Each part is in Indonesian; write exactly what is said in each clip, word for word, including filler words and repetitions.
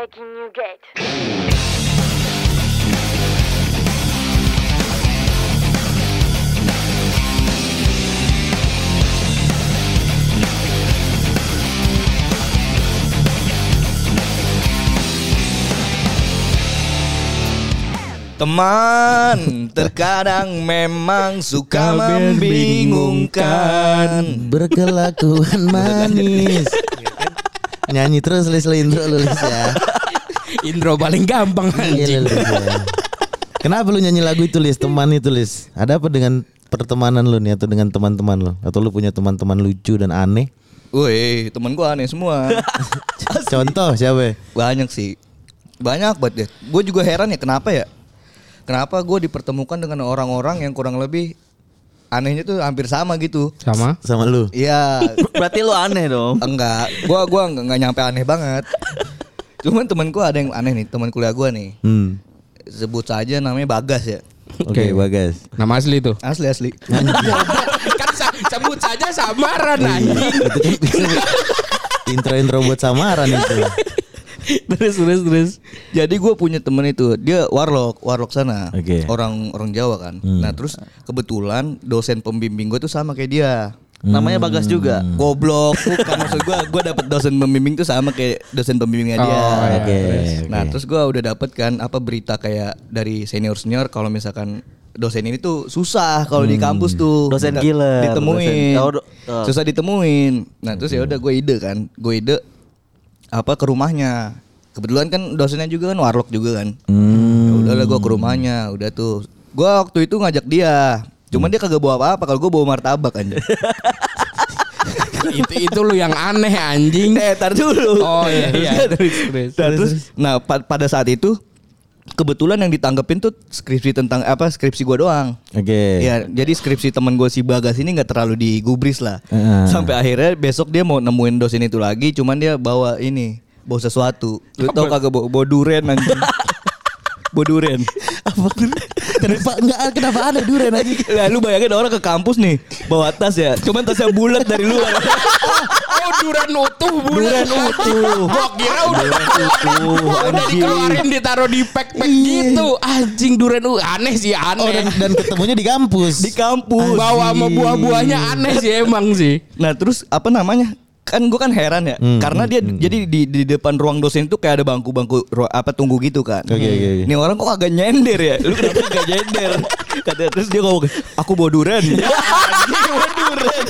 Breaking New Gate. Teman, terkadang memang suka membingungkan, berkelakuan manis. Nyanyi terus Lis, lo intro lu Lis ya. Intro paling gampang anjing. Iya, ya. Kenapa lu nyanyi lagu itu Lis, teman itu Lis? Ada apa dengan pertemanan lu nih atau dengan teman-teman lu? Atau lu punya teman-teman lucu dan aneh? Woi, temen gue aneh semua. Contoh siapa? Banyak sih, banyak banget ya. Gue juga heran ya kenapa ya. Kenapa gue dipertemukan dengan orang-orang yang kurang lebih anehnya tuh hampir sama gitu. Sama? Sama lu? Iya. Berarti lu aneh dong. Enggak, gue gua enggak, enggak nyampe aneh banget. Cuman temen gue ada yang aneh nih, teman kuliah gue nih. Hmm. Sebut saja namanya Bagas ya. Oke, okay, Bagas. Nama asli tuh. Asli asli. Kan sebut saja samaran anjing. Intro-intro buat samaran itu. terus terus terus. Jadi gue punya temen itu, dia warlock, warlock sana. Okay. Orang orang Jawa kan. Hmm. Nah terus kebetulan dosen pembimbing gue tuh sama kayak dia. Namanya Bagas juga. Goblok, bukan maksud gue. Gue dapet dosen pembimbing tuh sama kayak dosen pembimbingnya dia. Oh, Oke. Okay, nah okay. terus gue udah dapet kan apa berita kayak dari senior senior kalau misalkan dosen ini tuh susah kalau hmm. di kampus tuh. Dosen Nggak gila. Ditemuin. Dosen, oh, do, oh. Susah ditemuin. Nah terus ya udah gue ide kan, gue ide apa ke rumahnya. Kebetulan kan dosennya juga kan warlock juga kan. Hmm. Ya udahlah gue ke rumahnya, udah tuh. Gue waktu itu ngajak dia. Cuman dia kagak bawa apa-apa, kalau gue bawa martabak aja. itu itu lu yang aneh anjing. Eh, tar dulu. Oh iya iya. terus, terus, nah, terus, nah pa- pada saat itu kebetulan yang ditanggepin tuh skripsi tentang apa skripsi gue doang. Oke. Okay. Ya, jadi skripsi teman gue si Bagas ini nggak terlalu digubris lah. Uh. Sampai akhirnya besok dia mau nemuin dosen itu lagi, cuman dia bawa ini, bawa sesuatu. Lu tau kagak bawa, bawa duren anjing. Bawa duren. Apa kenapa enggak kenapa ada duren aja? Lah lu bayangin orang ke kampus nih bawa tas ya, cuman tasnya bulat dari luar. Oh duren utuh bulan. Duren utuh. Gua kira udah utuh. udah dikeluarin ditaruh di pack-pack gitu. Anjing duren uh aneh sih aneh. Oh dan, dan ketemunya di kampus. Di kampus. Bawa sama buah-buahnya aneh sih emang sih. Nah terus apa namanya? Kan gue kan heran ya, hmm, karena dia hmm, jadi di di depan ruang dosen itu kayak ada bangku-bangku apa tunggu gitu kan. Oke okay, oke. Okay, okay. Nih orang kok agak nyender ya? Lu kenapa agak nyender? Kata terus dia ngomong, aku bawa duren. Anjing bawa duren.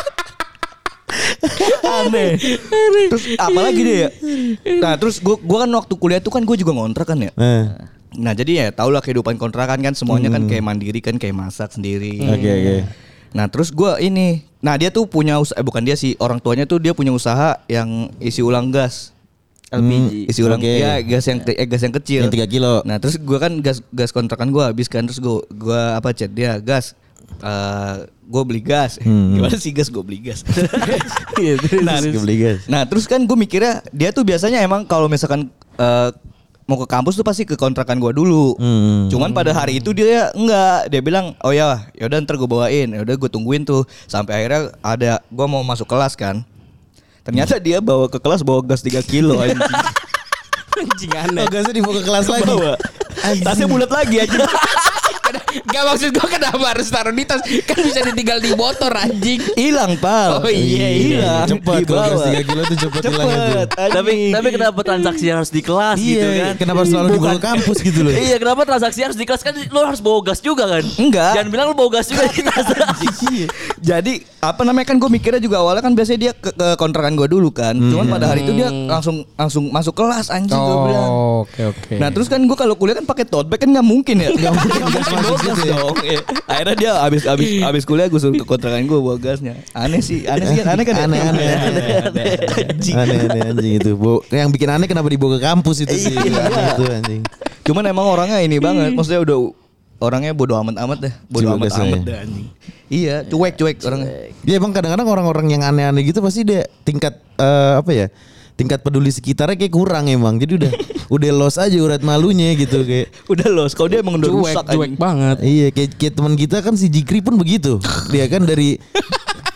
Aneh. Terus apalagi dia ya? Nah terus gue gue kan waktu kuliah tuh kan gue juga ngontrak kan ya. Eh. Nah jadi ya tau lah kehidupan kontrakan kan semuanya hmm. kan kayak mandiri kan kayak masak sendiri. Oke okay, oke. Okay. Nah terus gue ini, nah dia tuh punya usaha, eh, bukan dia sih, orang tuanya tuh dia punya usaha yang isi ulang gas, L P G, hmm, isi ulang, okay. ya gas yang eh, gas yang kecil, yang tiga kilo. Nah terus gue kan gas gas kontrakan gue habis kan, terus gue gue apa chat dia gas, uh, gue beli gas, hmm. gimana sih gas gue beli gas, nah, gue beli gas. Nah terus kan gue mikirnya dia tuh biasanya emang kalau misalkan uh, mau ke kampus tuh pasti ke kontrakan gua dulu. Hmm. Cuman pada hari itu dia enggak, dia bilang, "Oh ya, yaudah ntar gua bawain." Ya udah gua tungguin tuh sampai akhirnya ada gua mau masuk kelas kan. Ternyata dia bawa ke kelas bawa gas tiga kilo anjing. Anjing aneh. Oh, gasnya dibawa ke kelas lagi. Bawa. Tasnya bulat lagi anjing. Gak maksud gue kenapa harus taruh di tas. Kan bisa ditinggal di motor anjing. Hilang pal. Oh iya hilang. Cepet kalau gas tiga kilo tuh cepet hilang itu. Tapi tapi kenapa transaksi harus di kelas iya, gitu kan? Kenapa selalu dibawa ke kampus gitu loh? Iya kenapa transaksi harus di kelas kan lo harus bawa gas juga kan? Enggak. Jangan bilang lo bawa gas juga di tas. Jadi apa namanya kan gue mikirnya juga awalnya kan biasanya dia ke, ke kontrakan gue dulu kan. Hmm. Cuman pada hari itu dia langsung langsung masuk kelas anjing oh, gue bilang. Oke oke. Nah terus kan gue kalau kuliah kan pakai tote bag kan nggak mungkin ya. Nggak mungkin gas masuk gas dong. Ya. Akhirnya dia abis abis abis kuliah gue suruh ke kontrakan gue bawa gasnya. Aneh sih, aneh sih kan, aneh kan? Aneh aneh aneh aneh aneh aneh anjing itu. Yang bikin aneh kenapa dibawa ke kampus itu sih? Itu anjing. Cuman emang orangnya ini banget, maksudnya udah orangnya bodo amat-amat deh, bodo amat-amat deh anjing. Iya, cuek-cuek orangnya. Dia emang kadang-kadang orang-orang yang aneh-aneh gitu pasti dia tingkat uh, apa ya? Tingkat peduli sekitarnya kayak kurang emang. Jadi udah udah los aja urat malunya gitu kayak. Udah los. Kalau dia emang udah cuek, rusak cuek banget. Iya, kayak, kayak teman kita kan si Jikri pun begitu. Dia kan dari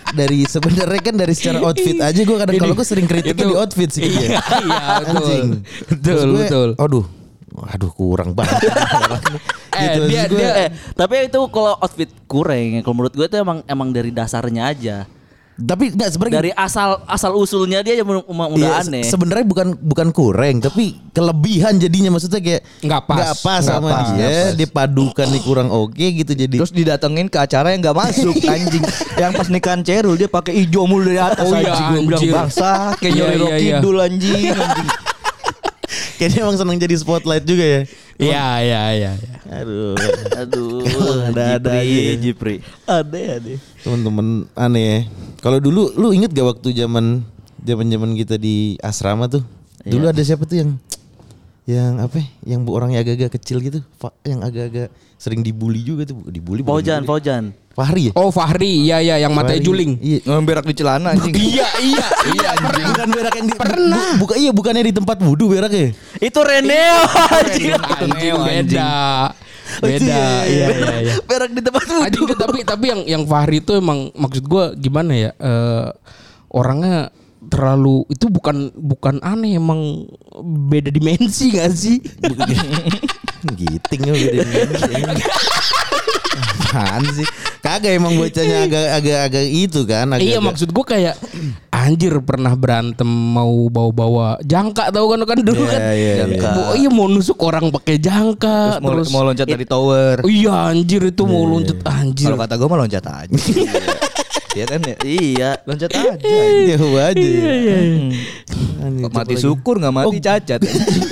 dari sebenarnya kan dari secara outfit aja gue kadang kalau gue sering kritiknya di outfit sih. Iya, iya, betul. Anjing. Betul, Terus gue, betul. Aduh, aduh kurang banget. Eh, Gitu, dia terus gue- dia Eh, tapi itu kalau outfit kurang, kalau menurut gue itu emang emang dari dasarnya aja. Tapi enggak sebenarnya Dari asal asal usulnya dia aja udah Iya, aneh. se- sebenarnya bukan bukan kurang tapi kelebihan jadinya maksudnya kayak Nggak pas. nggak pas Nggak sama pas. dia dipadukan nih kurang oke gitu jadi Terus didatengin ke acara yang gak masuk anjing. Yang pas nikahan Cerul dia pakai hijau mulu dari atas Oh iya, anjing. Gue bilang anjir. bangsa kayak Iya, nyori iya, Rocky iya. Dul anjing. anjing. kayaknya emang seneng jadi spotlight juga ya. Iya, iya, iya, iya. Aduh, Aduh, ada-ada Jipri, aja. Jipri. Ada ada. temen-temen aneh ya. Kalau dulu lu inget gak waktu zaman zaman-zaman kita di asrama tuh? Dulu ada siapa tuh yang yang apa? ya, Yang bu orangnya agak-agak kecil gitu, Fa- yang agak-agak sering dibully juga tuh, dibully. bukan Faujan, dibully. Faujan. Fahri ya? Oh, Fahri, iya iya yang matanya Fahri. juling. Iya. Yang berak di celana anjing. Iya, iya, iya. Bukan berak yang di pernah. Bu, buka iya bukannya di tempat wudhu berak ya? Itu Reneo anjing. Anjing, beda. Oh, itu Beda. ya, Iya, iya, iya. Berak di tempat Anjing, wudhu. tapi tapi yang yang Fahri itu emang maksud gua gimana ya? Eh, orangnya terlalu itu bukan bukan aneh emang beda dimensi gak sih? Giting ya beda dimensi. Apaan sih? Kagak emang bocahnya agak-agak agak itu kan. Agak, Iya maksud gua kayak anjir pernah berantem mau bawa-bawa jangka tahu kan kan dulu Iya, kan. iya, iya. Bo- Iya mau nusuk orang pakai jangka Terus mau, terus, mau loncat dari tower. Oh iya anjir itu mau loncat anjir. Kalau kata gue mah loncat aja. Iya kan ya? Iya. Loncat aja. jauh aja. Iya, Anjing, Mati apalagi. syukur nggak mati cacat.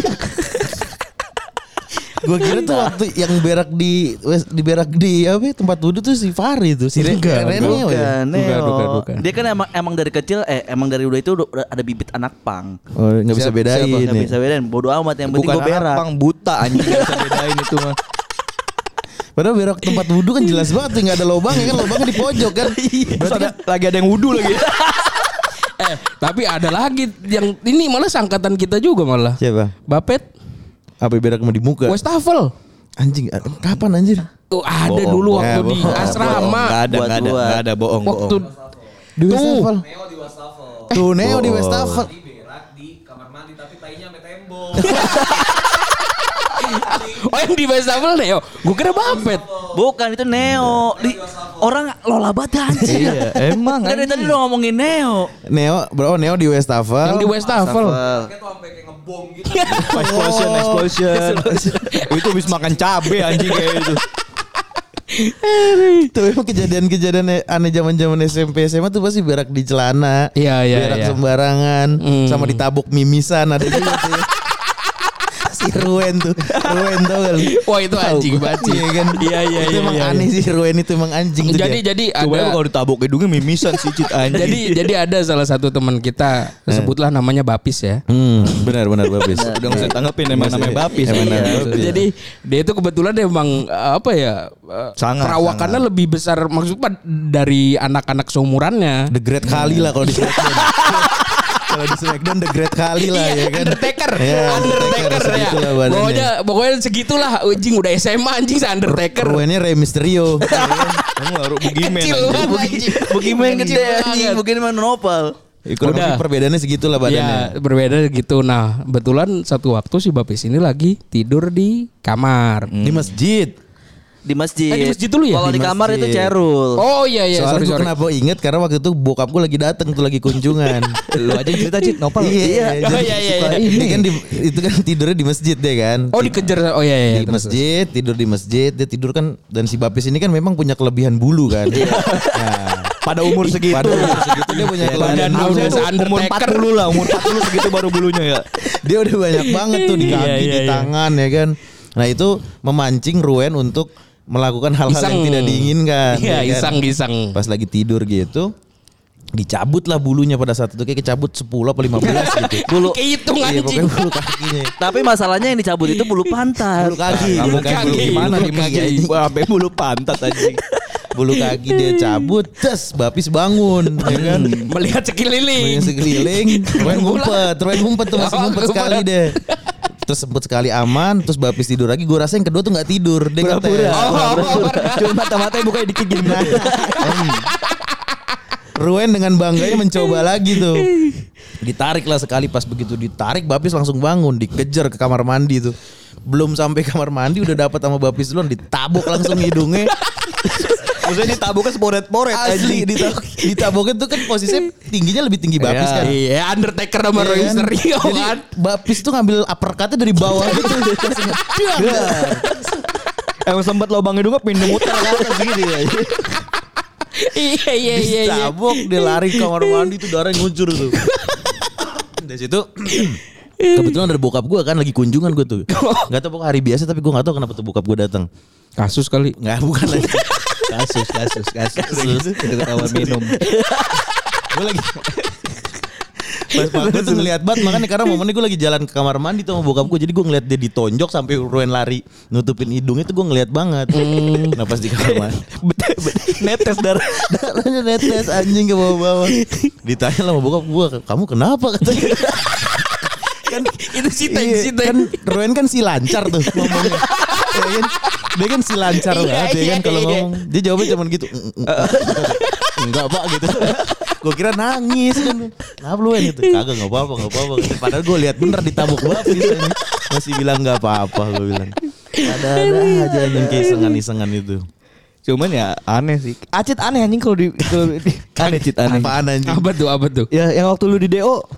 Gua kira tuh waktu yang berak di wes- di berak di apa ya, tempat wudhu tuh si Fahri tuh si Re- Enggak, Reneo ya. Bukan, Neo. Bukan, bukan, bukan. Dia kan emang emang dari kecil eh emang dari udah itu udah ada bibit anak pang. Oh nggak bisa Siapa- bedain. siapa? Enggak ya. bisa bedain, bodo amat yang penting Bukan gue berak. pang buta anjing nggak bisa bedain itu mah. Padahal berak tempat wudhu kan jelas banget tuh, nggak ada lubangnya kan, lubangnya di pojok kan. Terus ada, lagi ada yang wudhu lagi. Eh tapi ada lagi yang ini malah sangkatan kita juga malah. Siapa? Bapet Apa berak mau di muka? Westafel. Anjing, kapan anjir? Tuh ada Bohong, dulu bohong. waktu Eh, di bohong. asrama. Nggak ada, Buat nggak ada, buat. nggak ada bohong, Waktu bohong. Di Westafel. Tuh Neo di Westafel. Oh yang di Westafel deh, gue kira Bapet. Bukan itu Neo. Di orang lola banget anjing. Iya, emang Dari anjing. tadi lu ngomongin Neo. Neo, bro, Neo di Westafel. Yang di Westafel. Explosion, explosion. Itu habis makan cabe anjing kayak itu. Itu emang kejadian-kejadian aneh zaman-zaman S M P S M A tuh pasti berak di celana. Iya, iya, Berak iya. sembarangan, Hmm. sama ditabuk mimisan ada juga tuh. ya. Si Ruen tuh, Ruen tau gak lu? Wah itu anjing Tahu gua. banget sih. Iya kan? Iya iya Itu iya. emang iya, aneh iya. sih Ruen itu emang anjing tuh Jadi dia. jadi Coba ada. kalau ditabuk hidungnya mimisan sih cit anjing. Jadi jadi ada salah satu teman kita sebutlah namanya Bapis ya. Hmm, benar benar Babis. udah nggak usah tanggepin emang namanya Bapis. Emang Iya. namanya Bapis. Jadi dia itu kebetulan emang eh, apa ya eh, Sangat, perawakannya lebih besar maksudnya dari anak-anak seumurannya. The Great kali lah kalau di Smackdown. Kalau di Smackdown The Great kali lah ya kan. Undertaker, Ya, Undertaker ya. segitulah badannya. Pokoknya pokoknya segitulah anjing udah S M A anjing Undertaker. Ruennya Rey Mysterio. Kamu harus bugimen. Kecil anjing. banget anjing. Bugimen Kecil gede banget. anjing, bugimen nopal. Ya, kurang Udah. lebih perbedaannya segitulah badannya. Ya berbeda gitu. Nah kebetulan satu waktu si Bapis ini lagi tidur di kamar. Di masjid. Di masjid. Eh, di masjid dulu ya? Kalau Di di kamar masjid. itu Cerul. Oh iya iya Soalnya sorry gue sorry. kenapa inget karena waktu itu bokap gue lagi dateng tuh lagi kunjungan. Lu aja yang cerita cit Nopal. Iya. Oh, jadi iya, iya, suka iya. ini. Dia kan di, itu kan tidurnya di masjid deh kan. Oh dikejar. Oh iya iya. Di terus, masjid, tidur di masjid, dia tidur kan dan si Bapis ini kan memang punya kelebihan bulu kan. Nah, Pada umur segitu. pada umur segitu dia punya kelebihan Badan bulu. udah Umur se-Undertaker. empat puluh lah, umur empat puluh segitu baru bulunya ya. Dia udah banyak banget tuh di Iya, kaki, iya, di iya. tangan ya kan. Nah itu memancing Ruen untuk melakukan hal-hal yang Iseng. tidak diinginkan. Iya ya kan? iseng iseng. Pas lagi tidur gitu, dicabut lah bulunya pada saat itu kayak kecabut sepuluh apa lima belas gitu. Bulu. Kehitung Iya anjing. pokoknya bulu kakinya. Tapi masalahnya yang dicabut itu bulu pantat. Bulu kaki, Kamu bulu kayak kaki. bulu gimana Bulu di kaki, masjid? anjing. Sampai bulu pantat anjing. Bulu kaki dia cabut, tes Bapis bangun, ya kan? Melihat sekeliling. Melihat sekeliling, Ruen ngumpet, Ruen ngumpet tuh masih Oh, ngumpet ngumpet. sekali deh. Terus sempet sekali aman, terus Bapis tidur lagi. Gue rasa yang kedua tuh nggak tidur, dia ngetes. Oh, Cuma mata-matanya bukannya dikit gini. Ruen dengan bangganya mencoba lagi tuh. Ditarik lah sekali, pas begitu ditarik Bapis langsung bangun, dikejar ke kamar mandi tuh. Belum sampai kamar mandi udah dapat sama Bapis duluan, ditabuk langsung hidungnya. Maksudnya ditabuknya sporet-sporet Asli ditabuk, ditabuknya tuh kan posisinya tingginya lebih tinggi Bapis kan. Iya, Undertaker sama Roy Iya kan? Mysterio Jadi kan. Bapis tuh ngambil uppercutnya dari bawah gitu. Emang sempat lubang hidungnya pindah muter ke atas gitu ya. Iya iya iya. Ditabuk, dia lari ke kamar mandi tuh darah nguncur tuh. Dari situ kebetulan ada bokap gue kan lagi kunjungan gue tuh. Gak tau pokoknya hari biasa tapi gue gak tau kenapa tuh bokap gue datang. Kasus kali. Nggak, bukan lagi. Kasus, kasus, kasus. Itu ketahuan minum. Gue lagi pas pas gue tuh ngeliat banget, makanya karena momennya gue lagi jalan ke kamar mandi tuh sama bokap gue, jadi gue ngeliat dia ditonjok sampai Ruen lari nutupin hidungnya tuh gue ngeliat banget. Hmm. Nah pas di kamar mandi Netes darah. darahnya netes anjing ke bawah-bawah. Ditanya lah sama bokap gue, kamu kenapa katanya. Kan Itu si Teng, iya, si Teng. kan Ruen kan si lancar tuh ngomongnya. Ya kan? Dia kan si lancar Iya, banget ya iya, kan kalau iya. ngomong. Dia jawabnya cuma gitu. Enggak pak gitu. Gue kira nangis kan. Kenapa lu gitu? Kagak enggak apa-apa, enggak apa-apa. Padahal gue lihat bener ditabuk Bapis ini. Masih bilang enggak apa-apa gue bilang. Ada-ada aja anjing keisengan-isengan itu. Cuman ya aneh sih. Acit aneh anjing kalau di, kalau di aneh Cit aneh. Apaan anjing? Apa tuh apa tuh? Ya yang waktu lu di D O.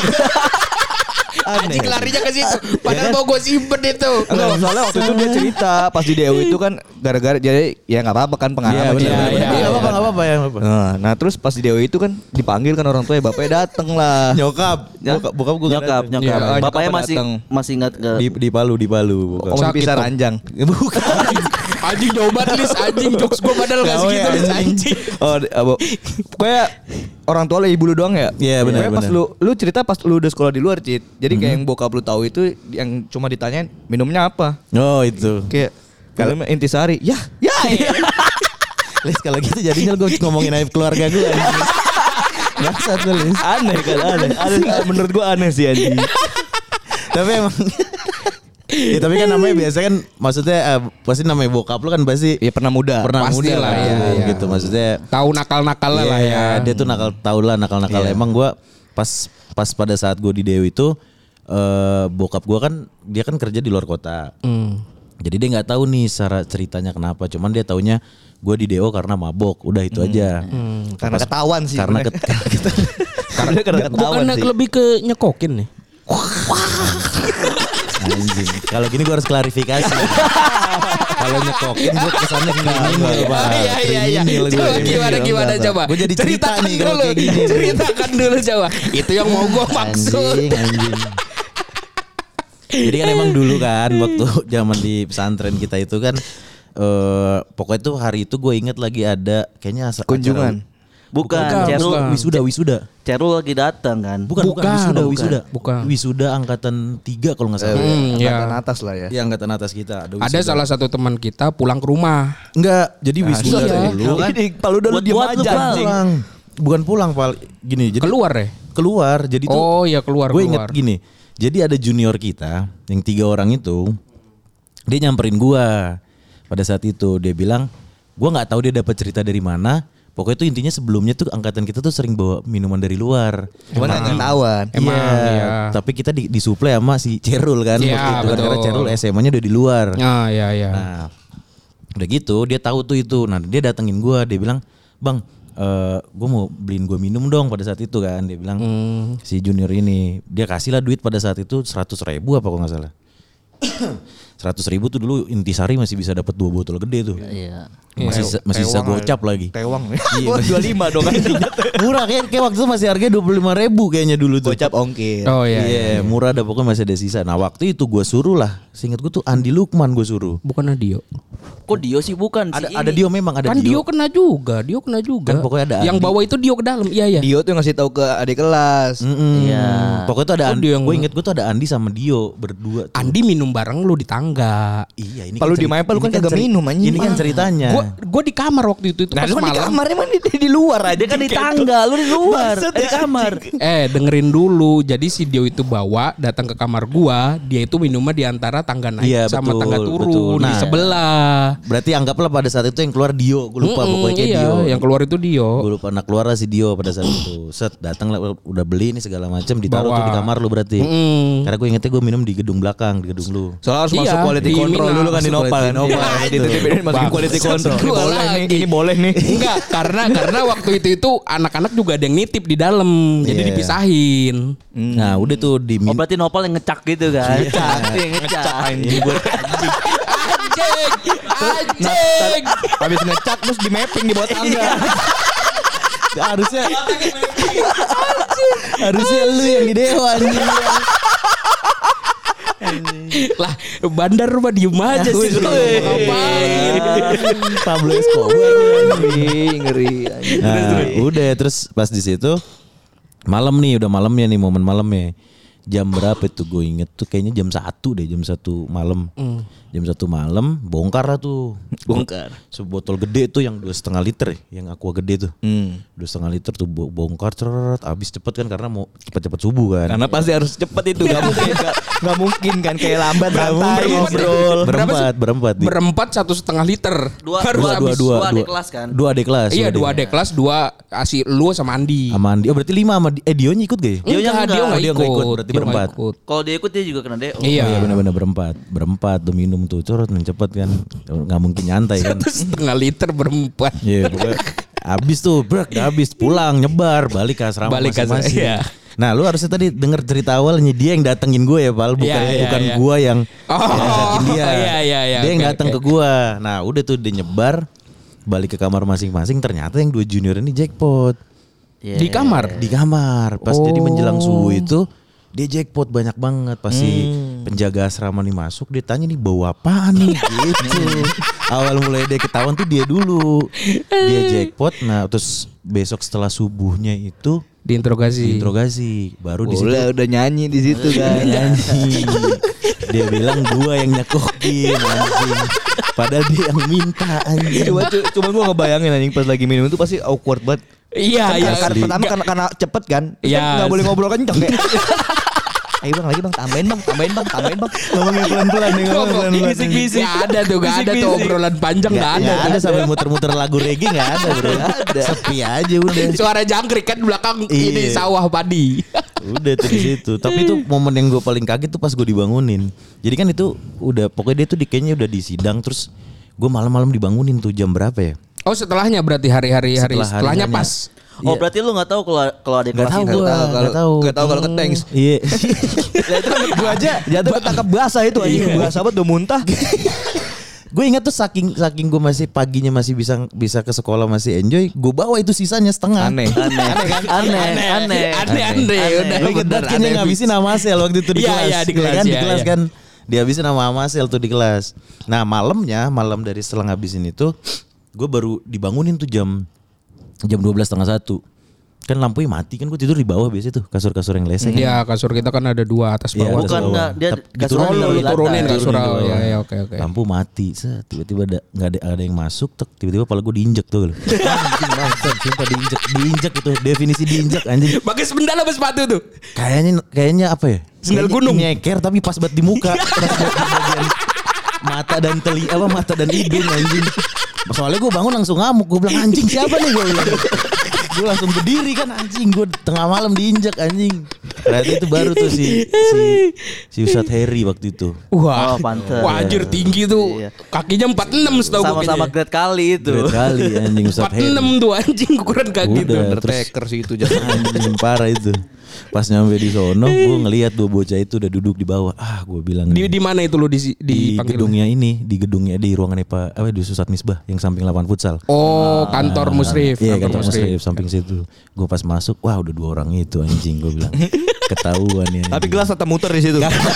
Anjing larinya ke situ. Padahal mau gue simpen itu. Enggak, soalnya waktu itu dia cerita pas di D O itu kan gara-gara jadi ya nggak apa-apa kan pengalaman. Iya benar. Iya, iya, Enggak apa-apa, enggak apa-apa ya. nggak apa-apa. Nah, nah terus pas di D O itu kan dipanggil kan orang tuanya, bapaknya dateng lah. Nyokap, Ya. bokap, bokap gue Nyokap, nyokap. Iya, Bapaknya nyokapnya masih datang. masih ingat ke di di Palu, di Palu bokap. Om Sakit, pisah Om. ranjang. Bukan. Anjing jauh banget Lis. Anjing jokes gue padahal gak Gawe, segitu Lis. anjing. Anjing. Oh, di- abo. Pokoknya orang tua lu ibu lu doang ya? Iya, benar, Pokoknya pas benar. lu lu cerita pas lu udah sekolah di luar, Cit. Jadi kayak yang bokap lu tahu itu yang cuma ditanyain minumnya apa. Oh itu. Kayak minumnya intisari. Ya, ya. Les kalau gitu jadinya gue ngomongin aib keluarga gue. Bangsat lu Les. Aneh kan, aneh. Aneh, menurut gua aneh sih anjing. Tapi emang ya, tapi kan namanya biasa kan maksudnya uh, pasti namanya bokap lu kan pasti Ya pernah muda. pernah Pasti muda lah, lah ya, tuh, ya. gitu maksudnya. Tahu nakal-nakalnya lah Iya, ya. Dia tuh nakal tahu lah nakal-nakal. Iya. Emang gue pas pas pada saat gue di Dewi itu eh bokap gue kan dia kan kerja di luar kota. Hmm. Jadi dia nggak tahu nih secara ceritanya kenapa. Cuman dia taunya gue di D O karena mabok. Udah itu aja. Karena ketahuan sih. Karena sebenarnya. ket- Karena karena ketahuan Bukan sih. lebih ke nyekokin nih. Anjing. Kalau gini gue harus klarifikasi. Kalau nyekokin gue kesannya kriminal, Pak. Iya iya iya. Kriminal gue. Coba gimana gimana coba. Gue jadi cerita Ceritakan nih kalau dulu. kayak gini. Ceritakan dulu coba. Itu yang mau gue maksud. Anjing, anjing. Jadi kan emang dulu kan waktu zaman di pesantren kita itu kan eh pokoknya tuh hari itu gue inget lagi ada kayaknya asa- Kunjungan. acara- bukan, Bukan, Cerul bukan. wisuda wisuda. Cerul lagi datang kan. Bukan, bukan, Bukan, wisuda, bukan. wisuda. Bukan. Wisuda angkatan tiga kalau nggak salah. Hmm, Angkatan ya. atas lah ya. Ya angkatan atas kita. Ada, Ada wisuda. salah satu teman kita pulang ke rumah. Enggak, jadi wisuda iya. dulu. Ini kalau udah lu Buat- diem buat lu, aja Pal. anjing. Pulang. Bukan pulang, Pal. Gini, jadi Keluar ya? keluar. Jadi tuh Oh iya keluar gue inget keluar. gini. Jadi ada junior kita yang tiga orang itu dia nyamperin gua pada saat itu. Dia bilang, gua nggak tahu dia dapat cerita dari mana. Pokoknya tuh intinya sebelumnya tuh angkatan kita tuh sering bawa minuman dari luar. Cuman Emang. nggak ketahuan. Emang, Iya, iya. Tapi kita di, disuplai sama si Cerul kan. Iya, waktu itu kan. Karena betul. Cerul S M A-nya udah di luar. Ah iya iya. Nah, udah gitu dia tahu tuh itu. Nah, dia datengin gua, dia bilang, "Bang, eh gue mau beliin gue minum dong." Pada saat itu kan dia bilang Hmm. si junior ini, dia kasih lah duit pada saat itu seratus ribu apa kalau nggak salah. Seratus ribu tuh dulu Intisari masih bisa dapat dua botol gede tuh. Iya. Masih Tew- masih bisa tewang gocap lah. lagi. Tewang. Iya, Wah, dua puluh lima dong kan. Murah kayak, kayak waktu itu masih harganya dua puluh lima ribu kayaknya dulu tuh. Gocap ongkir. Oh iya. Iya, iya. murah ada pokoknya masih ada sisa. Nah waktu itu gue suruh lah, seingat gue tuh Andi Lukman gue suruh. Bukan Dio. Kok Dio sih bukan Ada si ada ini. Dio memang ada Kan Dio. Dio kena juga, Dio kena juga. Kan pokoknya ada Yang Andi. bawa itu Dio ke dalam. Iya iya. Dio tuh ngasih tahu ke adik kelas. Mm-mm. Iya. Pokoknya tuh ada Oh, Andi. Dio yang- Gue inget gue tuh ada Andi sama Dio berdua tuh. Andi minum bareng lu di tangga. enggak. Iya, ini Kalau kan di ceri- Maipel lu ini kan kagak ceri- minum, anjing. Ini kan ceritanya. Gue gue di kamar waktu itu itu Nah, pas lu kan di malam. kamarnya mah di, di luar aja. Dia kan di tangga, lu di luar, Maksud di ya, kamar. Eh dengerin dulu. Jadi si Dio itu bawa datang ke kamar gua. Dia itu minumnya di antara tangga naik Iya, sama betul, tangga betul. turun di Nah, sebelah. Berarti anggaplah pada saat itu yang keluar Dio, gue lupa Mm-mm, pokoknya iya, Dio. yang keluar itu Dio. Gue lupa, nah keluar si Dio pada saat itu. Set, datang lah, udah beli nih segala macam, ditaruh Bawa. tuh di kamar lu berarti. Mm-mm. Karena gue ingetnya gue minum di gedung belakang, di gedung lu. Soalnya harus Iya, masuk quality di control Mina. dulu kan di Masuk Nopal. quality Nopal. control. Di T T P D masukin Bang, quality control. Ini gua boleh nih, lagi. ini boleh nih. Enggak, karena karena waktu itu itu anak-anak juga ada yang nitip di dalam. Jadi Iya. dipisahin. Nah udah tuh di Oh berarti Nopal yang ngecak gitu kan? Ngecak, dia ngecak. Anjing gue. Anjing, anjing. Habis ngecak terus di mapping di bawah tangga. harusnya harusnya lu yang di dewa anjing. Lah, bandar mah diem aja sih. Ngapain? Pablo Escobar. Ngeri, ngeri. Nah, udah terus pas di situ malam nih, udah malamnya nih, momen malamnya. Jam berapa tuh gue inget tuh kayaknya jam satu deh, jam satu malam. Mm. Jam satu malam bongkar lah tuh. Bongkar. Sebotol gede tuh yang dua setengah liter ya, yang aqua gede tuh. Hmm. Dua setengah liter tuh bo- bongkar ceret, abis cepet kan karena mau cepet-cepet subuh kan. Karena pasti harus cepet itu, gak mungkin, gak, gak mungkin kan kayak lambat santai ngobrol. Berapa sih? berempat, berempat. Di- Berempat satu setengah liter. Dua, Harus dua, habis. dua, dua adik kelas kan? Dua adik kelas. Iya, dua adik kelas, dua asi lu sama Andi. Sama Andi. Oh berarti lima sama Di- eh Dionya ikut gak ya? Dia Enggak, enggak. dia Oh, enggak dia ikut. nggak ikut, berarti Dia nggak berempat. ikut. Kalau dia ikut dia juga kena D O. Iya. Oh, iya benar-benar berempat, berempat tuh minum tuh curut mencepet kan, nggak mungkin nyantai kan. Satu setengah liter berempat. Iya pokoknya abis tuh brek, habis pulang nyebar balik ke asrama Balik ke asrama, masing-masing. iya. Nah lu harusnya tadi denger cerita awalnya dia yang datengin gue ya Pal, bukan Iya, iya, bukan iya. gue yang Oh, ngajakin dia. iya, iya, iya, Dia yang oke, datang oke. ke gue. Nah udah tuh dia nyebar balik ke kamar masing-masing, ternyata yang dua junior ini jackpot. Di kamar. Di kamar pas Oh. jadi menjelang subuh itu dia jackpot banyak banget. Pasti Hmm. penjaga asrama nih masuk, dia tanya nih bawa apaan nih gitu. Awal mulai dia ketahuan tuh dia dulu. Dia jackpot. Nah terus besok setelah subuhnya itu Diinterogasi. interogasi, baru di situ Udah, udah nyanyi di situ kan. nyanyi. Dia bilang gua yang nyekokin anjing. Padahal dia yang minta anjing. Cuma, cuma gue ngebayangin anjing pas lagi minum itu pasti awkward banget. Iya, iya. Karena asli. pertama karena, karena cepet kan. Terus Iya. kan nggak boleh ngobrol kenceng kayak. Ayo bang lagi bang, tambahin bang, tambahin bang, tambahin bang. Ngomongnya pelan-pelan nih, ngomongnya pelan-pelan. Bisik-bisik. Gak ada tuh, gak ada tuh obrolan panjang, gak ada. Nggak ada sampai muter-muter lagu reggae nggak ada bro. Sepi aja udah. Suara jangkrik kan belakang Iya. ini sawah padi. Udah tuh di situ. Tapi itu momen yang gue paling kaget tuh pas gue dibangunin. Jadi kan itu udah pokoknya dia tuh di, kayaknya udah di sidang terus gue malam-malam dibangunin tuh jam berapa ya? Oh setelahnya berarti hari-hari hari Setelah setelahnya harinya. pas. Oh Iya. berarti lu nggak tahu kalau kalau ada Nggak kelas tahu itu. gua. Kalau Nggak tahu. nggak tahu kalau ke tanks. Iya. Ya itu gue aja jatuh ketangkap basah itu anjing. Basah banget udah muntah. Gue ingat tuh saking saking gue masih paginya masih bisa bisa ke sekolah masih enjoy, gue bawa itu sisanya setengah. Aneh. Aneh, kan? Aneh, aneh, Aneh, aneh. Udah Gue inget banget kayaknya ngabisin nama Amasel waktu itu di Iya, kelas. iya, di kelas, kan, di iya, kelas iya. kan. Dihabisin nama Amasel tuh di kelas. Nah malamnya, malam dari setelah ngabisin itu, gue baru dibangunin tuh jam jam dua belas setengah satu. Kan lampunya mati kan, gue tidur di bawah biasanya tuh kasur-kasur yang leseng. Iya kasur kita kan ada dua atas Iya, bawah. atas Bukan, bawah. nggak, dia Tapi kasur diturunin lu dari turunin turunin lantai. kasur. Turunin di Oh, bawah. iya, iya, oke, oke. Lampu mati, set, tiba-tiba ada nggak ada ada yang masuk, tek, tiba-tiba kepala gue diinjek tuh. Anjing bangsat, sumpah diinjek, diinjek itu definisi diinjek anjing. Pakai sendal apa sepatu tuh? Kayaknya kayaknya apa ya? Sendal Kayaknya gunung. Nyeker tapi pas banget di muka, pas banget di bagian mata dan teli apa mata dan hidung anjing. Soalnya gue bangun langsung ngamuk, gue bilang anjing siapa nih gue bilang. Gue langsung berdiri kan anjing, gue tengah malam diinjek anjing. Berarti itu baru tuh si si si Ustadz Harry waktu itu. Wah, Oh, pantes. wah anjir tinggi tuh. Iya. Kakinya empat puluh enam setahu gue Sama-sama kayaknya. grade kali itu. Berat kali anjing empat Ustadz puluh Harry. enam tuh anjing ukuran kaki tuh. Udah, terus Undertaker sih itu jatuh. anjing parah itu. Pas nyampe di sono, gue ngelihat dua bocah itu udah duduk di bawah. Ah, gue bilang Di nih, di mana itu lu di di dipanggil? gedungnya ini, di gedungnya di ruangannya Pak apa di Ustadz Misbah yang samping lapangan futsal. Oh, kantor musrif. Iya kantor musrif samping situ. Gue pas masuk, wah udah dua orang itu anjing gue bilang. Ketahuan ya. Tapi gelas tetap muter di situ.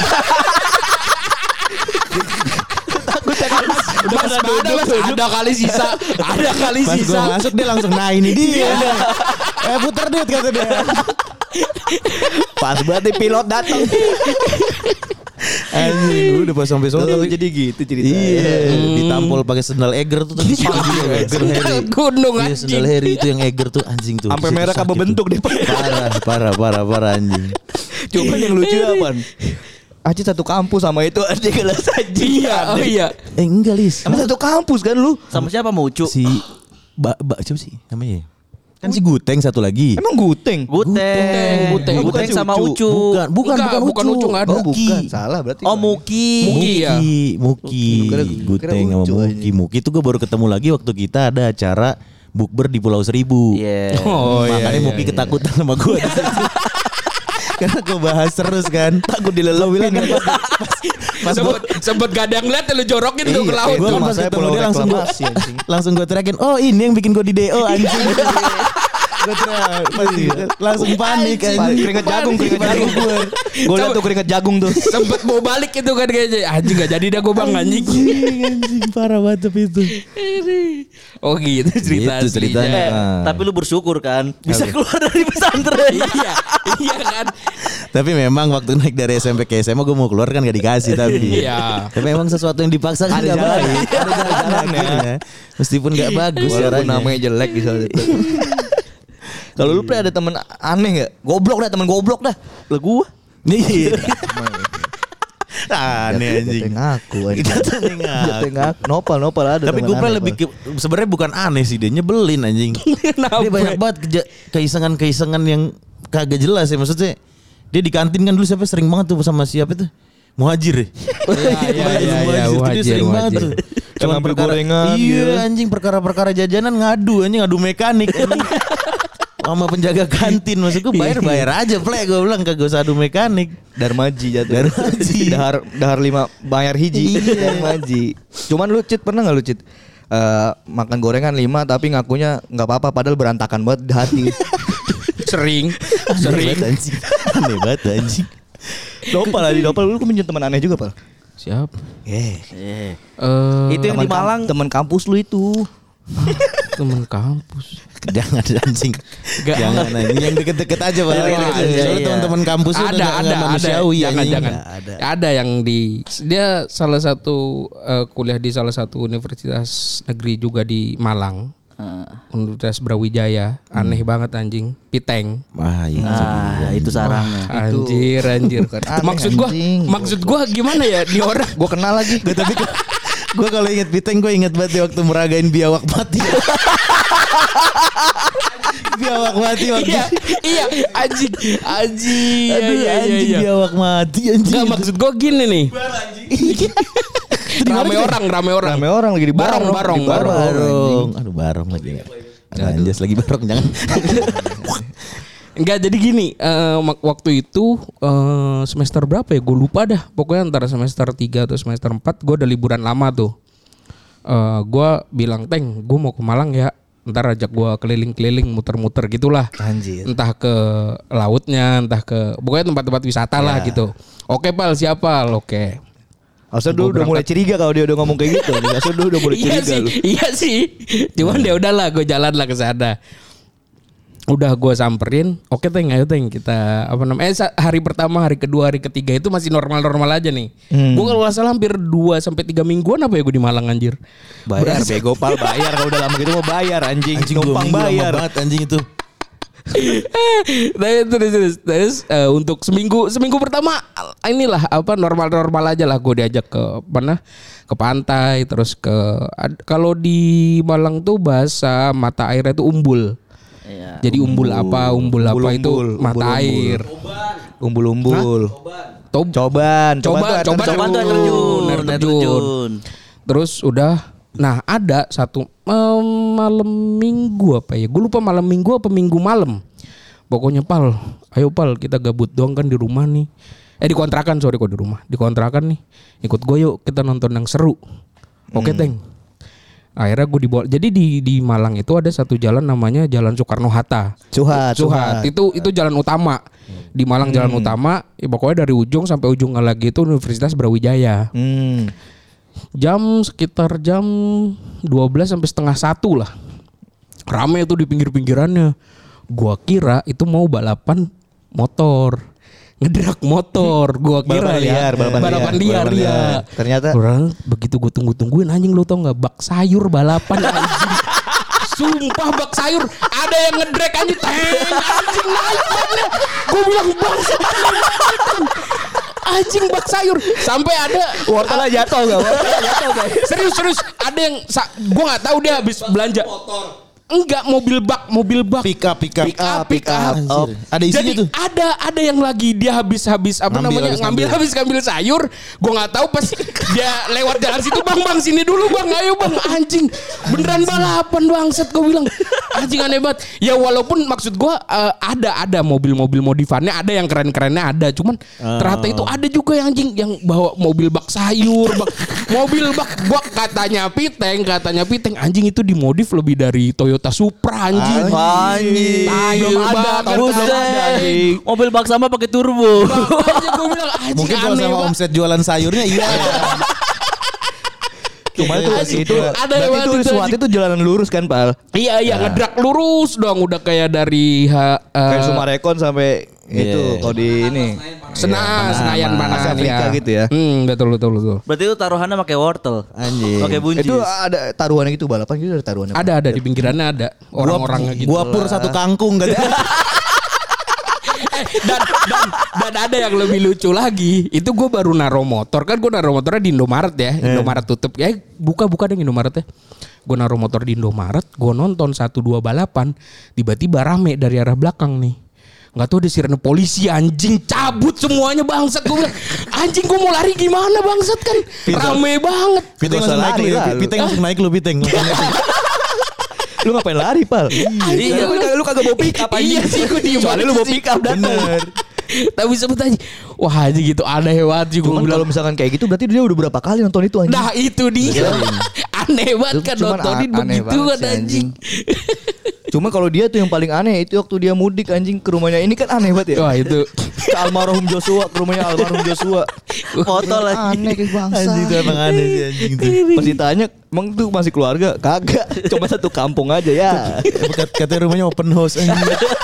Mas, ada, mas, ada kali sisa, ada kali Pas gue sisa. masuk dia langsung nah ini dia. Eh puter duit kata dia. Pas berarti pilot datang. Anjing, udah pas sampai sono. Oh, jadi gitu ceritanya. Iya, ditampol pakai sendal Eger tuh tapi Eger Harry. Gunung Iya, anjing. sendal Harry itu yang Eger tuh anjing tuh. Sampai Situ merah sakit apa bentuk tuh. deh. Parah, parah, parah, parah anjing. Cuman yang lucu apaan? Aci satu kampus sama itu aja kelas anjing. Iya, oh iya. Eh enggak Lis. Emang satu kampus kan lu? Sama siapa mau Ucu? Si Mbak Mbak siapa sih namanya? Kan si Guteng satu lagi. Emang guteng? Guteng, Guteng. Guteng, Bukan si sama Ucu. Ucu. Bukan, bukan, Enggak, bukan, bukan Ucu, nggak ada. Oh Muki. bukan, salah berarti. Oh Muki. Muki ya. Muki, Kira- Guteng kira sama Ucu Muki. Muki itu gue baru ketemu lagi waktu kita ada acara bukber di Pulau Seribu. Iya. Oh iya. Makanya iya, Muki iya. ketakutan sama gue. Karena gue bahas terus kan. Takut dilelopin kan pas, pas Sempet, sempet gak ada yang liat lu jorokin tuh ke laut. Gue Itu pas masanya ketemu pulau dia langsung gue reklamasi, anjing. langsung gue teriakin, oh ini yang bikin gue di D O anjing. Gue teriak, pasti langsung panik anjing. Keringet jagung, keringet jagung. Gue liat tuh keringet jagung tuh. Sempet mau balik itu kan kayaknya. Anjing gak jadi dah gue bang anjing. Anjing, anjing parah banget tapi itu. Oh gitu cerita Gitu aslinya. ceritanya. Eh, Ah. tapi lu bersyukur kan bisa keluar dari pesantren. Iya, iya kan. Tapi memang waktu naik dari S M P ke S M A gue mau keluar kan gak dikasih tapi. Iya. Tapi memang sesuatu yang dipaksa kan Ada gak jalan. baik. Ada jalan ya. Meskipun gak bagus Walaupun caranya. namanya jelek di saat itu. Kalau lu pernah ada temen aneh gak? Goblok dah, temen goblok dah. Lah gua. Nih. Aneh anjing. Jatuh ngaku anjing. Jatuh ngaku. Jatuh ngaku. Nopal, nopal ada. Tapi temen gue pernah aneh, lebih Pal. ke, sebenarnya bukan aneh sih, dia nyebelin anjing. Dia banyak banget keja- keisengan-keisengan yang kagak jelas ya, maksudnya. Dia di kantin kan dulu siapa sering banget tuh sama siapa tuh? Muhajir ya. Iya, iya, iya, iya, Muhajir tuh dia Muhajir, sering banget Muhajir. tuh. Yang ngambil gorengan Iya gitu. anjing, perkara-perkara jajanan ngadu anjing, ngadu mekanik anjing. Sama penjaga kantin, maksud gue bayar-bayar aja plek, gue bilang kagak usah adu mekanik. Darmaji jatuh. Darmaji. Dahar dahar lima bayar hiji. Iya. Darmaji. Cuman lu Cit pernah enggak lu Cit? Eh, makan gorengan lima tapi ngakunya nggak apa-apa padahal berantakan banget di hati. Sering, Aneh sering. banget anjing. Aneh banget anjing. Dopal lagi dopal lu punya teman aneh juga, Pal. Siapa? Eh, Eh. Eh, Itu yang di Malang. Teman kampus lu itu. temen kampus. Jangan anjing. Gak. Jangan anjing, yang deket-deket aja Pak. Yang deket-deket, Soalnya iya. teman-teman kampus udah Ada, nggak- ada, nggak ada. manusiawi Jangan, anjing. jangan. Nggak ada. Ada yang di dia salah satu eh, kuliah di salah satu universitas negeri juga di Malang. Ah. Universitas Brawijaya. Aneh banget anjing. Piteng. Wah, iya. Ah, itu sarangnya. Anjir, anjir. aneh, maksud gua, anjing. maksud gua gimana ya di orang? Gua kenal lagi. Gue tapi gue kalau inget Piteng gue inget banget waktu meragain biawak mati. Biawak mati waktu. Iya, iya, anjing, anjing. Aduh Iya, iya, anjing iya. biawak mati anjing. Enggak, maksud gua gini nih. Rame orang, rame orang. Rame orang lagi di Barong, barong, di barong. barong. Aduh barong lagi. Ada anjas lagi barong jangan. Enggak, jadi gini, eh, mak- waktu itu eh, semester berapa ya? Gue lupa dah. Pokoknya antara semester tiga atau semester empat gue udah liburan lama tuh. Eh, gue bilang, "Teng, gue mau ke Malang ya. Ntar ajak gue keliling-keliling, muter-muter gitulah. Anjir. Entah ke lautnya, entah ke pokoknya tempat-tempat wisata lah gitu." Oke, Pal, siapa? Oke. Harusnya Gua dulu udah mulai berangkat. curiga kalau dia udah ngomong kayak gitu. Harusnya dulu udah mulai Iya curiga sih, lu. iya sih. Cuman ya udahlah, gue jalan lah ke sana. Udah gue samperin, oke Teng, ayo Teng kita apa namanya? Eh, sa- hari pertama, hari kedua, hari ketiga itu masih normal-normal aja nih. Hmm. Gue kalau nggak salah hampir dua sampai tiga mingguan apa ya gue di Malang anjir. Bayar bego Pal, bayar kalau udah lama gitu mau bayar anjing. Anjing dua Numpang minggu lama bayar. banget anjing itu. Nah, terus terus, terus eh, untuk seminggu seminggu pertama inilah apa normal-normal aja lah gue diajak ke mana ke pantai terus ke ad- kalau di Malang tuh bahasa mata airnya tuh umbul. Iya. Jadi umbul apa umbul apa Umbul, itu umbul, mata umbul, air. Umbul-umbul. Tob- Coban, Coba, coba, Coba tuh air terjun, air air terjun. terjun. Terus udah, nah ada satu em, malam minggu apa ya? Gue lupa malam minggu apa minggu malam. Pokoknya Pal, ayo Pal kita gabut doang kan di rumah nih. Eh di kontrakan sorry kok di rumah, di kontrakan nih. Ikut gue yuk kita nonton yang seru. Oke Teng. Akhirnya gue dibawa. Jadi di di Malang itu ada satu jalan namanya Jalan Soekarno Hatta. Suhat, Suhat. Itu itu jalan utama. Di Malang jalan utama, ya pokoknya dari ujung sampai ujung lagi itu Universitas Brawijaya. Hmm. Jam sekitar jam dua belas sampai setengah satu lah. Rame tuh di pinggir-pinggirannya. Gua kira itu mau balapan motor. ngedrak motor. Gua kira Balapan ya liar, balapan balapan liar, liar, balapan ya. liar. Ternyata orang begitu gue tunggu-tungguin anjing lu tau nggak bak sayur balapan anjing. Sumpah bak sayur ada yang ngedrek anjing teng anjing naik banget. Gue bilang bangsa anjing bak sayur sampai ada wortelnya jatuh enggak? Wortelnya jatuh enggak? serius serius ada yang gue nggak tahu dia habis belanja enggak mobil bak mobil bak Pick up, pick up. pick up pick up Anjir. Ada isinya jadi tuh. ada ada yang lagi dia habis habis apa Ngambil, namanya habis ngambil ngambil. habis ngambil sayur gue nggak tahu pas dia lewat jalan situ bang bang sini dulu bang ayo bang anjing beneran balapan bangset gue bilang anjing aneh banget ya walaupun maksud gue uh, ada ada mobil-mobil modifannya ada yang keren-kerennya ada cuman Oh. ternyata itu ada juga yang anjing yang bawa mobil bak sayur bak mobil bak bak katanya piteng katanya piteng anjing itu dimodif lebih dari Toyota Supra anjing Anjing. Tai Belum ada. banget, Buset. belum ada, anjing. Mobil bak sama pakai turbo. Makanya gue bilang anjing Mungkin kalau aneh sama banget. omset jualan sayurnya iya. Cuma itu Anjing. itu Ada berarti banget itu itu, SWAT anjing. itu jalanan lurus kan, Pal? Iya iya ngedrak lurus doang udah kayak dari ha, uh, Kayak Sumarekon sampai itu Iya. kalau di ini. Sena, Senayan mana Asia Afrika gitu ya. Hmm, betul betul betul. Berarti itu taruhannya pakai wortel. Anjing. Pakai buncis. Itu ada taruhannya gitu balapan gitu ada taruhannya. Ada ada di pinggirannya ada orang-orangnya gitu. Gua pur satu kangkung kan. Eh, dan, dan dan ada yang lebih lucu lagi. Itu gue baru naro motor kan gue naro motornya di Indomaret ya. Indomaret tutup ya buka-buka deh Indomaret ya. Gue naro motor di Indomaret, gue nonton satu dua balapan, tiba-tiba rame dari arah belakang nih. Nggak tahu ada sirene polisi anjing cabut semuanya bangsat gue bilang anjing gue mau lari gimana bangsat kan rame banget. Piteng Gak usah langsung naik lari lu. lah, ya. lu. Piteng langsung naik lu Piteng. Lu ngapain lari, Pal? Iya, Lu kagak lu kagak bawa pick up Iya sih gue diem Soalnya lu bawa pick up Bener. tapi sebut aja wah aja gitu aneh banget sih gue Cuman bilang. kalau misalkan kayak gitu berarti dia udah berapa kali nonton itu anjing. Nah itu dia aneh banget kan Cuman nontonin a- aneh begitu banget kan sih, anjing. Cuma kalau dia tuh yang paling aneh itu waktu dia mudik anjing ke rumahnya ini kan aneh banget ya. Wah itu Ke almarhum Joshua, ke rumahnya almarhum Joshua. Foto lagi. Aneh kayak bangsa. Anjing itu emang aneh sih anjing tuh. Pas ditanya, emang tuh masih keluarga? Kagak, cuma satu kampung aja ya. Kat- Katanya rumahnya open house anjing.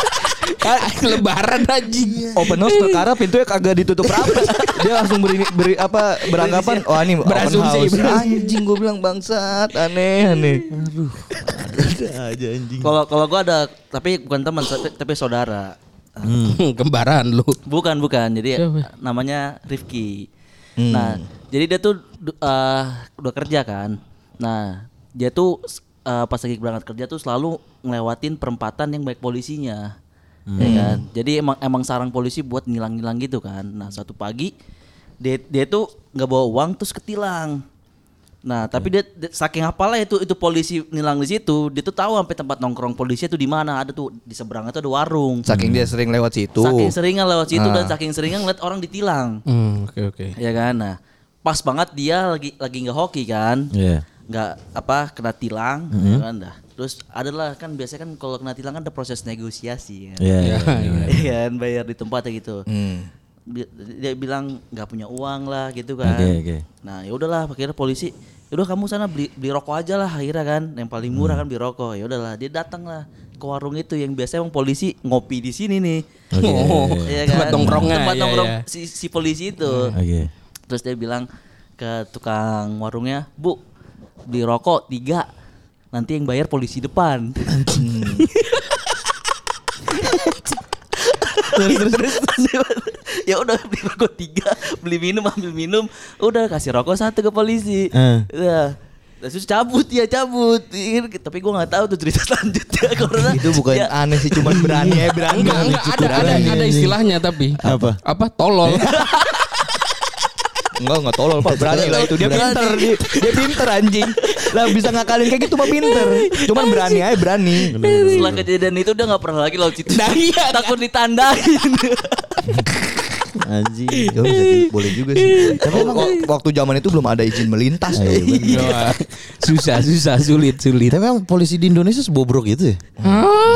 lebaran anjing. Open house perkara pintunya kagak ditutup rapat. Dia langsung beri, beri apa beranggapan, oh ini open Berasumsi, house. berasumsi. Anjing gue bilang bangsat, aneh aneh. Ada aja anjing. Kalau kalau gua ada tapi bukan teman tapi, tapi saudara. Kembaran lu. Bukan bukan. Jadi Siapa? namanya Rifki. Nah, jadi dia tuh uh, udah kerja kan. Nah, dia tuh uh, pas lagi berangkat kerja tuh selalu ngelewatin perempatan yang banyak polisinya. Ya kan? Jadi emang emang sarang polisi buat ngilang-ngilang gitu kan. Nah, suatu pagi dia dia tuh nggak bawa uang terus ketilang. Nah, tapi dia, dia saking hafalnya itu itu polisi nilang di situ, dia tuh tahu sampai tempat nongkrong polisi itu di mana. Ada tuh di seberangnya tuh ada warung. Saking dia sering lewat situ. Saking seringnya lewat situ Ah. dan saking seringnya ngeliat orang ditilang. Hmm, oke oke. Ya kan? Nah, pas banget dia lagi lagi nggak hoki kan. Iya. Nggak apa kena tilang ya kan dah. Terus adalah kan biasanya kan kalau kena tilang kan ada proses negosiasi kan. Iya. iya. Iya kan bayar di tempatnya gitu. Hmm. Dia, dia bilang nggak punya uang lah gitu kan. Oke, oke. Nah, ya udahlah akhirnya polisi, "Udah kamu sana beli beli rokok aja lah akhirnya kan. Yang paling murah kan beli rokok." Ya udahlah, dia datang lah ke warung itu yang biasanya emang polisi ngopi di sini nih. Oke. Oh, Iya tempat nongkrongnya. Tempat iya, nongkrong iya. si, si polisi itu. Oke. Terus dia bilang ke tukang warungnya, "Bu, beli rokok tiga. Nanti yang bayar polisi depan." terus terus terus ya udah beli rokok tiga, beli minum ambil minum, udah kasih rokok satu ke polisi. Eh. Udah. Terus cabut ya cabut. Tapi gue nggak tahu tuh cerita selanjutnya karena Itu bukan ya, aneh sih, cuman berani ya berani. Enggak enggak ada ada ada istilahnya tapi Apa? Apa tolol. Enggak, enggak tolol Pak, berani lah itu. Dia pinter, dia, dia pinter anjing. Lah bisa ngakalin kayak gitu mah pinter. Cuman berani aja berani. setelah kejadian itu udah nggak pernah lagi laut situ. Nah, iya, takut ditandain. Anjing. Ya, bisa di- boleh juga sih. Tapi emang wak- waktu zaman itu belum ada izin melintas. Ah, iya, bener. Susah susah sulit sulit. Tapi emang polisi di Indonesia sebobrok gitu ya? Hah?